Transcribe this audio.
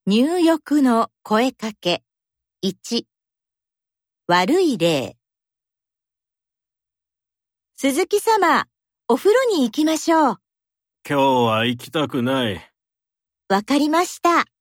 入浴の声かけ。1、悪い例。鈴木様、お風呂に行きましょう。 今日は行きたくない。 わかりました。